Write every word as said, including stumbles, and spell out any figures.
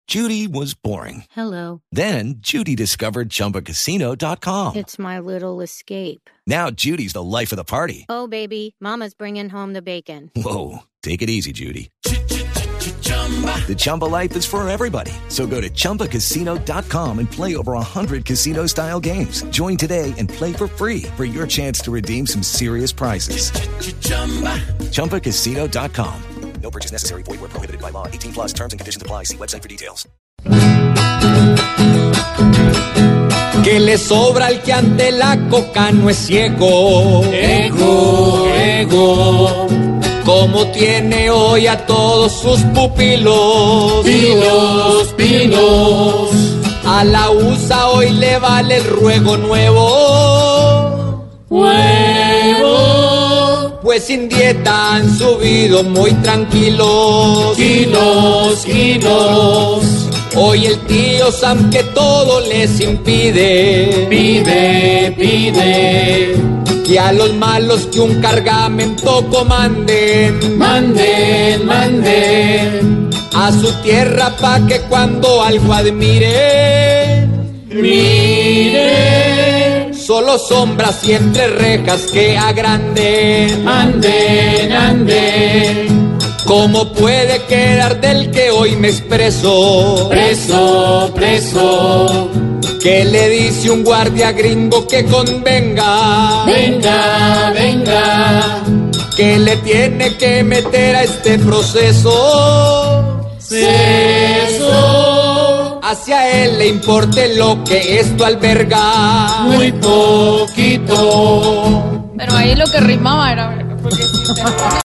Judy was boring. Hello. Then Judy discovered Chumba Casino dot com. It's my little escape. Now Judy's the life of the party. Oh, baby, mama's bringing home the bacon. Whoa, take it easy, Judy. The Chumba life is for everybody. So go to Chumba Casino dot com and play over one hundred casino-style games. Join today and play for free for your chance to redeem some serious prizes. Chumba Casino dot com. No purchase necessary. Void where prohibited by law. eighteen plus terms and conditions apply. See website for details. Que le sobra al que ante la coca no es ciego. Ego, ego. Como tiene hoy a todos sus pupilos. Pilos, pilos. A la U S A hoy le vale el ruego nuevo. Huevo. Pues sin dieta han subido muy tranquilos. Kilos, kilos. Hoy el tío Sam que todo les impide. Pide, pide. Que a los malos que un cargamento comanden. Manden, manden. A su tierra pa' que cuando algo admire. Mire. Solo sombras y entre rejas que agranden. Anden, anden. ¿Cómo puede quedar del que hoy me expreso? Preso, preso. ¿Qué le dice un guardia gringo que convenga? Venga, venga. ¿Qué le tiene que meter a este proceso? Ceso. Hacia él le importe lo que esto alberga. Muy poquito. Pero ahí lo que rimaba era... Porque si